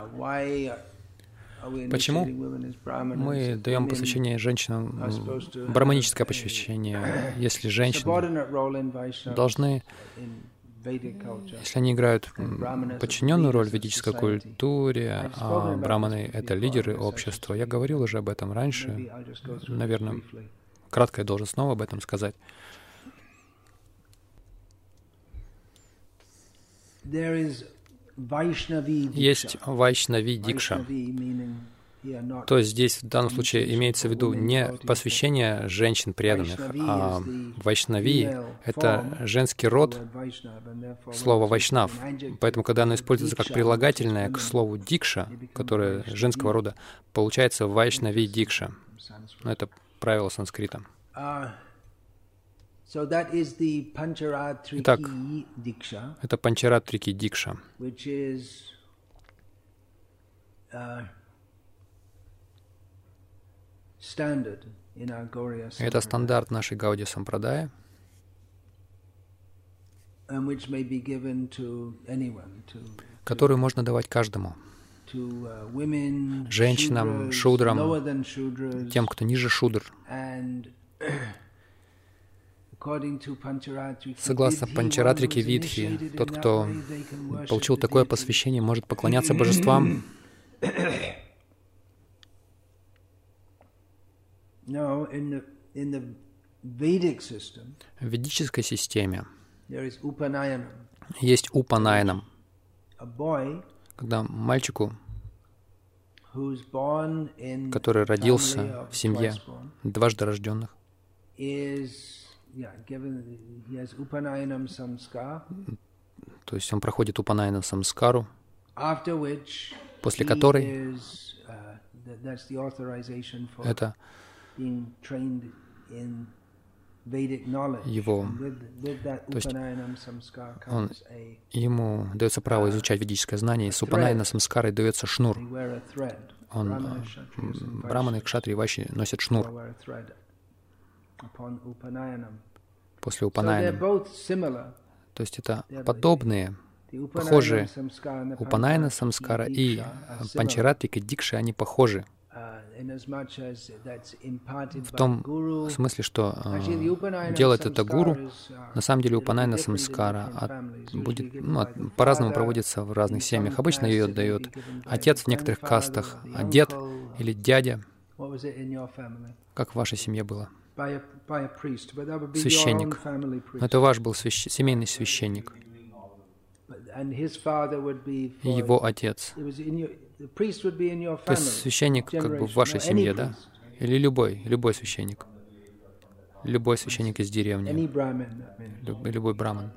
Почему мы даем посвящение женщинам, браманическое посвящение, если женщины должны, если они играют подчиненную роль в ведической культуре, а браманы — это лидеры общества? Я говорил уже об этом раньше, наверное, кратко я должен снова об этом сказать. Есть вайшнави дикша. То есть здесь в данном случае имеется в виду не посвящение женщин преданных, а вайшнави — это женский род слова вайшнав. Поэтому, когда оно используется как прилагательное к слову дикша, которое женского рода, получается вайшнави дикша. Это правило санскрита. Итак, это панчаратрики дикша, это стандарт нашей Гаудия Сампрадая, который можно давать каждому. Женщинам, шудрам, тем, кто ниже шудр. Согласно Панчаратрике Видхи, тот, кто получил такое посвящение, может поклоняться божествам. В ведической системе есть упанаянам, когда мальчику, который родился в семье дважды рожденных, то есть он проходит упанаяна самскару, после которой это его, то есть ему дается право изучать ведическое знание, и с упанаяна самскарой дается шнур. Браманы, кшатрии, вайши носят шнур после упанаяна. То есть это подобные, похожие. Упанаяна самскара и панчаратрика дикши, они похожи. В том смысле, что делает это гуру, на самом деле упанаяна самскара будет, по-разному проводится в разных семьях. Обычно ее дает отец в некоторых кастах, а дед или дядя. Как в вашей семье было? Священник. Это ваш был семейный священник. И его отец. То есть священник как бы в вашей семье, да? Или любой священник. Любой священник из деревни. Любой браман,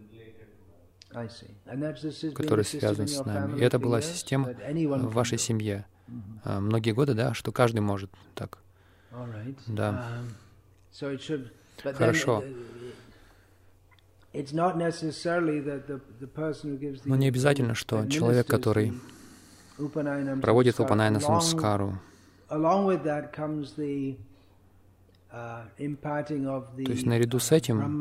который связан с нами. И это была система в вашей семье. Многие годы, да, что каждый может так. Да. Хорошо. Но не обязательно, что человек, который проводит упанаяна самскару, то есть наряду с этим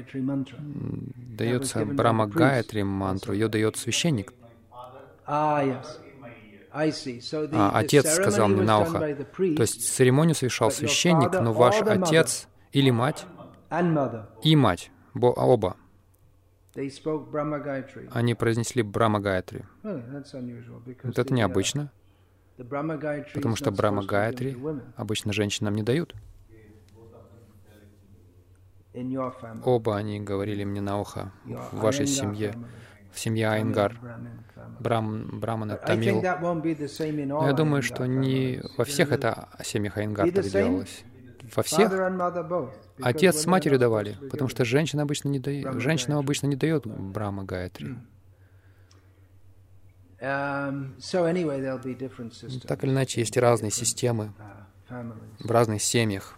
дается Брахма Гаятри мантру, ее дает священник. Отец сказал мне на ухо. То есть церемонию совершал священник, но ваш отец или мать и мать, оба, они произнесли Брахма Гаятри. Вот это необычно, потому что Брахма Гаятри обычно женщинам не дают. Оба они говорили мне на ухо в вашей семье, в семье Айенгар, браманы, тамил. Но я думаю, что не во всех это семьях Айенгар так делалось. Во всех отец с матерью давали, потому что женщинам обычно не дает Брахма Гаятри. Так или иначе, есть разные системы в разных семьях.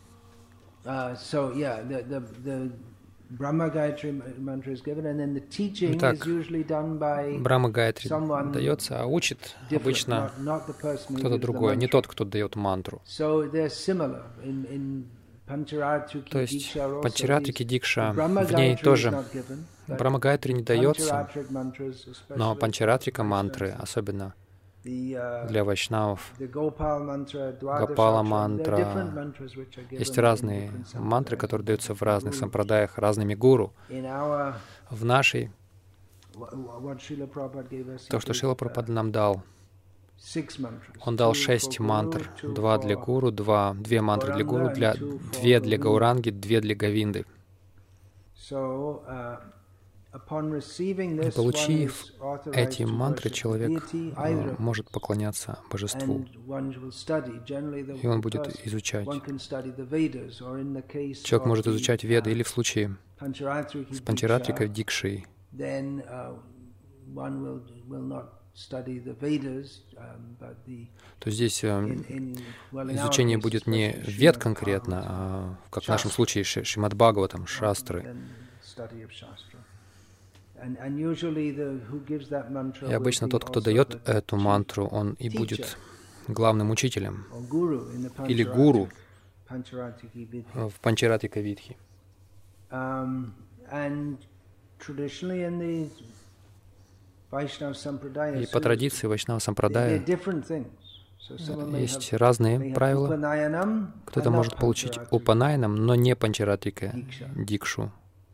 Итак, Брахма Гаятри дается, а учит обычно кто-то другой, не тот, кто дает мантру. То есть Панчаратрики Дикша, в ней тоже Брахма Гаятри не дается, но Панчаратрика мантры, особенно для вайшнавов, Гопала мантра. Есть разные мантры, которые даются в разных сампрадаях разными гуру. В нашей, то, что Шрила Прабхупада нам дал, он дал 6 мантр, 2 для гуру, 2 мантры для гуру, 2 для Гауранги, 2 для Говинды. И получив эти мантры, человек может поклоняться божеству, и он будет изучать. Человек может изучать Веды, или в случае с Панчаратрикой Дикшей, то здесь изучение будет не Вед конкретно, а, как в нашем случае, Шримад Бхагаватам, шастры. И обычно тот, кто дает эту мантру, он и будет главным учителем или гуру в Панчаратика Видхи. И по традиции Вайшнава Сампрадая есть разные правила. Кто-то может получить Упанайнам, но не Панчаратика Дикшу.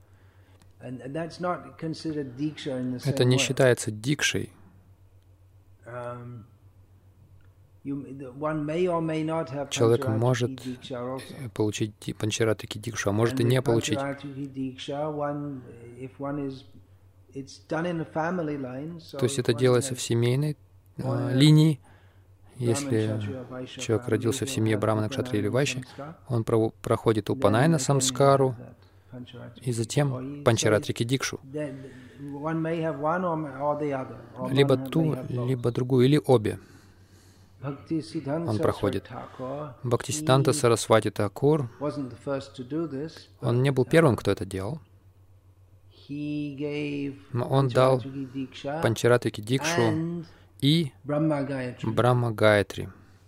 Это не считается дикшей. Человек может получить Панчаратики Дикшу, а может и не получить. То есть это делается в семейной линии. Если человек родился в семье Брамана, Кшатри или Вайши, он проходит Упанайна Самскару, и затем Панчаратрики Дикшу. Либо ту, либо другую, или обе он проходит. Бхактисиддханта Сарасвати Thakур, он не был первым, кто это делал. Но он дал Панчаратрики Дикшу и Брахма Гаятри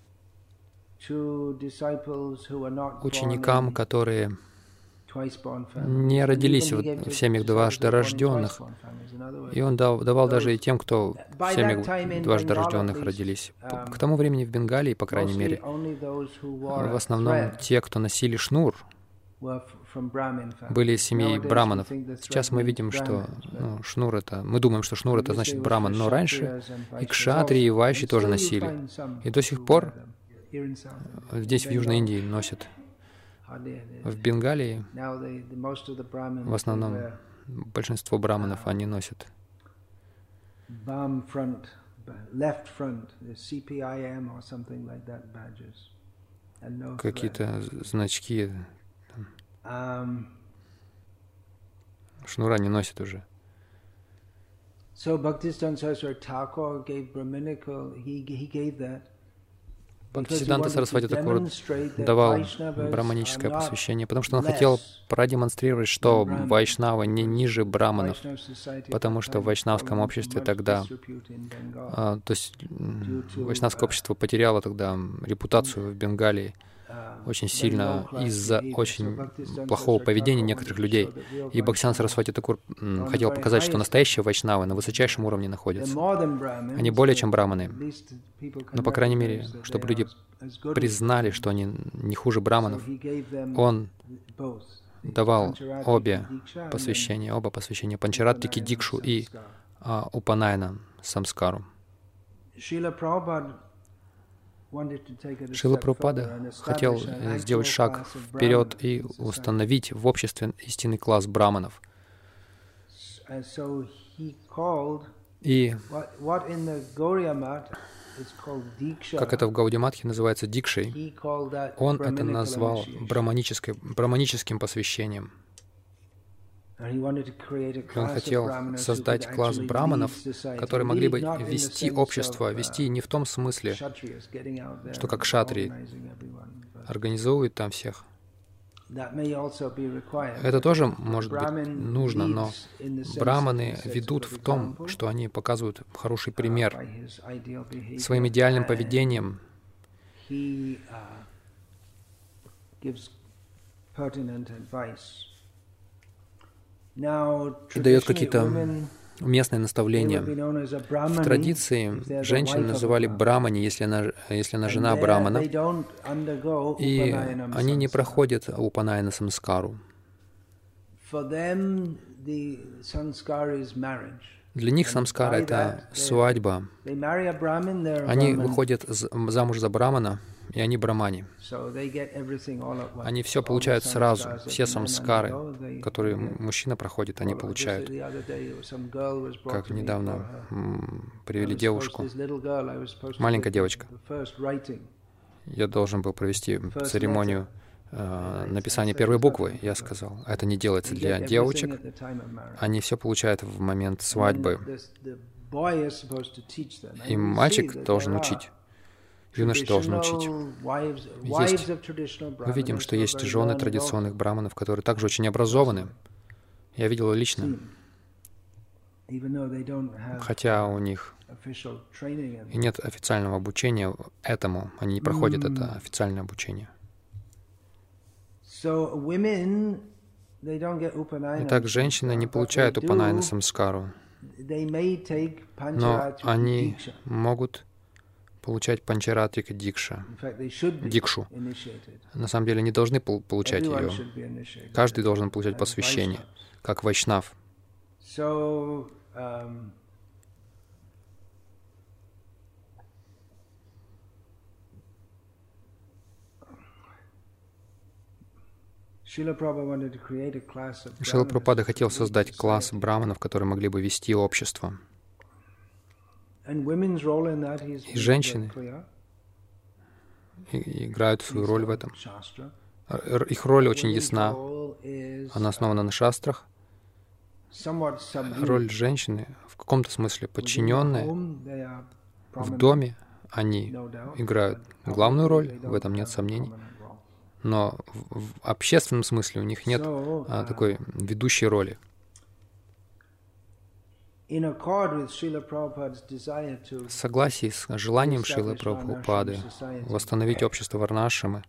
ученикам, которые не родились в семьях дважды рожденных. И он давал даже и тем, кто в семьях дважды рожденных родились. К тому времени в Бенгалии, по крайней мере, в основном те, кто носили шнур, были из семьи браманов. Сейчас мы видим, что шнур это... Мы думаем, что шнур это значит браман, но раньше и кшатри, и вайши тоже носили. И до сих пор здесь, в Южной Индии, носят. В Бенгалии в основном большинство браманов они носят какие-то значки. Шнура не носят уже. Бхактисиддханта Сарасвати Thakур давал браманическое посвящение, потому что он хотел продемонстрировать, что вайшнавы не ниже браманов, потому что в вайшнавском обществе тогда, то есть вайшнавское общество потеряло тогда репутацию в Бенгалии очень сильно из-за очень плохого поведения некоторых людей. И Бхактисиддханта Сарасвати Thakур хотел показать, что настоящие вайшнавы на высочайшем уровне находятся. Они более чем браманы. Но, по крайней мере, чтобы люди признали, что они не хуже браманов, он давал оба посвящения Панчаратрики Дикшу и Упанайна Самскару. Шрила Прабхупада хотел сделать шаг вперед и установить в обществе истинный класс браманов. И как это в Гаудия-матхе называется дикшей, он это назвал браманическим посвящением. Он хотел создать класс браманов, которые могли бы вести общество, вести не в том смысле, что как кшатрии организовывают там всех. Это тоже может быть нужно, но браманы ведут в том, что они показывают хороший пример. Своим идеальным поведением дает какие-то уместное наставление. В традиции женщин называли брамани, если она жена брамана, и они не проходят упанаяна самскару. Для них самскара — это свадьба. Они выходят замуж за брамана, и они брамани. Они все получают сразу, все самскары, которые мужчина проходит, они получают. Как недавно привели девушку, маленькая девочка. Я должен был провести церемонию написания первой буквы. Я сказал, это не делается для девочек, они все получают в момент свадьбы. И мальчик должен учить. Юноша должен учить. Мы видим, что есть жены традиционных браманов, которые также очень образованы. Я видел лично. Хотя у них и нет официального обучения этому, они не проходят это официальное обучение. Итак, женщины не получают упанаяна самскару, но они могут получать панчаратрика дикшу. На самом деле, они должны получать ее. Каждый должен получать посвящение, как вайшнав. Шрила Прабхупада хотел создать класс браманов, которые могли бы вести общество. И женщины играют свою роль в этом. Их роль очень ясна. Она основана на шастрах. Роль женщины в каком-то смысле подчиненная. В доме они играют главную роль, в этом нет сомнений. Но в общественном смысле у них нет такой ведущей роли. В согласии с желанием Шрилы Прабхупады восстановить общество Варнашрамы,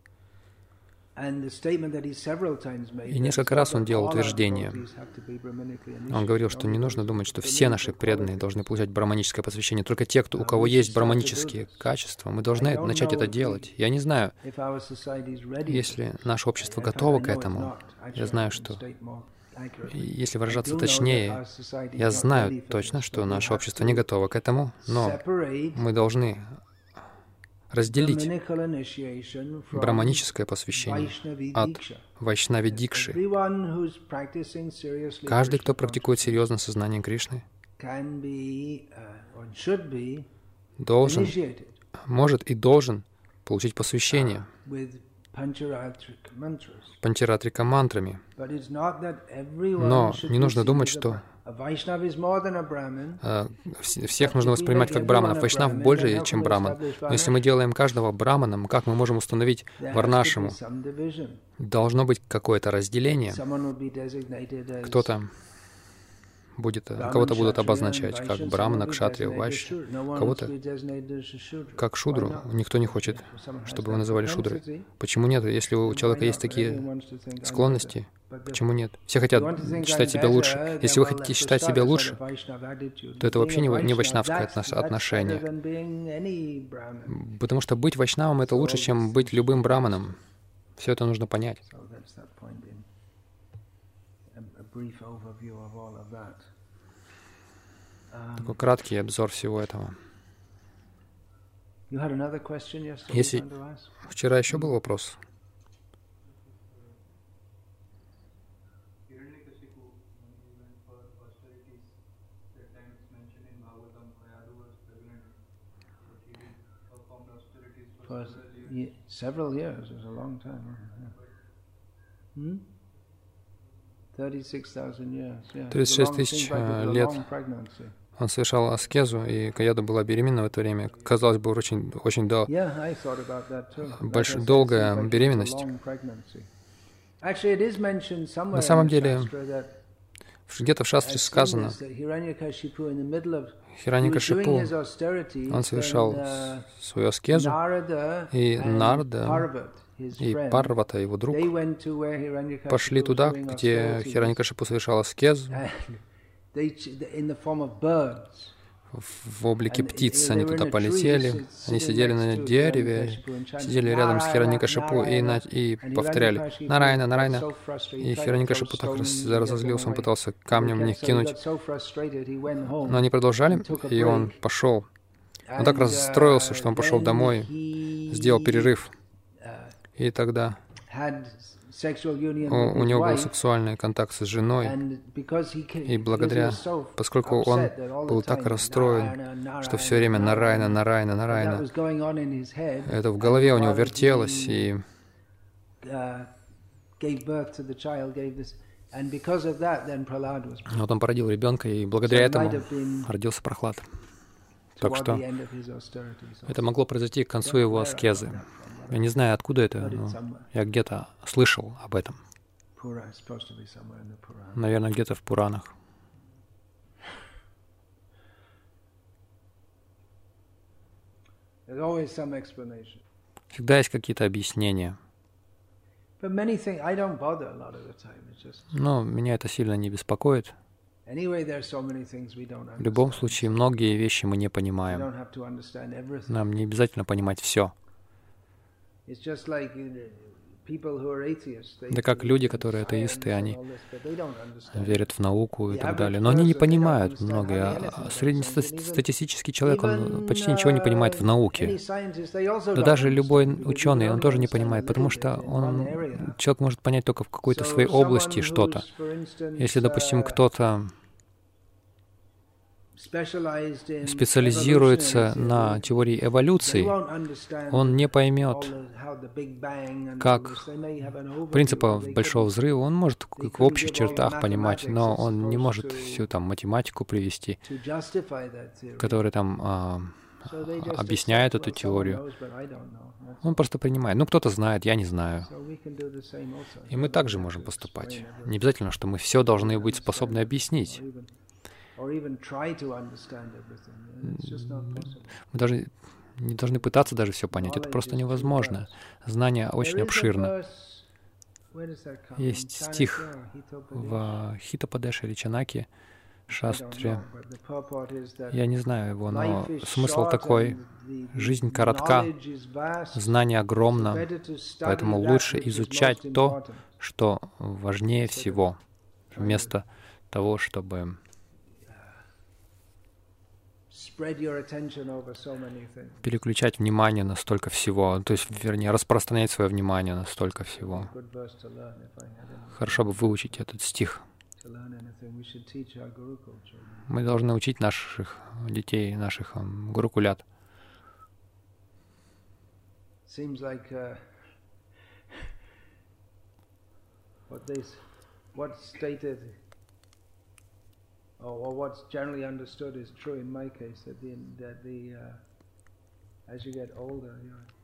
и несколько раз он делал утверждение. Он говорил, что не нужно думать, что все наши преданные должны получать браманическое посвящение. Только те, у кого есть браманические качества, мы должны начать это делать. Я не знаю, если наше общество готово к этому. Я знаю, что, если выражаться точнее, я знаю точно, что наше общество не готово к этому, но мы должны разделить браманическое посвящение от вайшнави дикши. Каждый, кто практикует серьезно сознание Кришны, может и должен получить посвящение панчаратрика мантрами. Но не нужно думать, что всех нужно воспринимать как браманов. Вайшнав больше, чем браман. Но если мы делаем каждого браманом, как мы можем установить варнашраму? Должно быть какое-то разделение. Кого-то будут обозначать как брамана, кшатрия, вайшья, кого-то как шудру. Никто не хочет, чтобы его называли шудрой. Почему нет? Если у человека есть такие склонности, почему нет? Все хотят считать себя лучше. Если вы хотите считать себя лучше, то это вообще не вайшнавское отношение. Потому что быть вайшнавом — это лучше, чем быть любым браманом. Все это нужно понять. Такой краткий обзор всего этого. Если вчера еще был вопрос. Several years is a long time. 36 тысяч лет он совершал аскезу, и Каяду была беременна в это время. Казалось бы, очень долгая беременность. На самом деле, где-то в шастре сказано, Хираньякашипу, он совершал свою аскезу, и Нарада и Парвата, его друг, пошли туда, где Хираньякашипу совершал аскезу, В облике птиц они туда полетели, они сидели на дереве, сидели рядом с Хираньякашипу и повторяли «Нарайна, Нарайна». И Хираньякашипу так разозлился, он пытался камнем в них кинуть. Но они продолжали, и он пошел. Он так расстроился, что он пошел домой, сделал перерыв. И тогда у него был сексуальный контакт с женой, и поскольку он был так расстроен, что все время Нарайна, Нарайна, Нарайна, это в голове у него вертелось, и вот он породил ребенка, и благодаря этому родился Прохлад. Так что это могло произойти к концу его аскезы. Я не знаю, откуда это, но я где-то слышал об этом. Наверное, где-то в Пуранах. Всегда есть какие-то объяснения. Но меня это сильно не беспокоит. В любом случае, многие вещи мы не понимаем. Нам не обязательно понимать все. Да как люди, которые атеисты, они верят в науку и так далее, но они не понимают многое. Среднестатистический человек, он почти ничего не понимает в науке. Да даже любой ученый, он тоже не понимает, потому что человек может понять только в какой-то своей области что-то. Если, допустим, кто-то специализируется на теории эволюции, он не поймет, как принципа Большого Взрыва. Он может в общих чертах понимать, но он не может всю там математику привести, которая там объясняет эту теорию. Он просто принимает. Ну, кто-то знает, я не знаю. И мы также можем поступать. Не обязательно, что мы все должны быть способны объяснить. Мы даже не должны пытаться даже все понять. Это просто невозможно. Знание очень обширно. Есть стих в Хитападеше или Чанаке, Шастре. Я не знаю его, но смысл такой. Жизнь коротка, знание огромно, поэтому лучше изучать то, что важнее всего, вместо того, чтобы переключать внимание на столько всего, то есть, вернее, распространять свое внимание на столько всего. Хорошо бы выучить этот стих. Мы должны учить наших детей, наших гурукулят. Or what's generally understood is true in my case, that as you get older,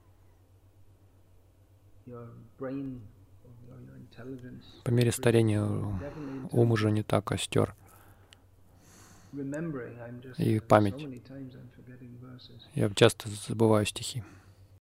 your brain, your intelligence. По мере старения ум уже не так остер. И память. Я часто забываю стихи.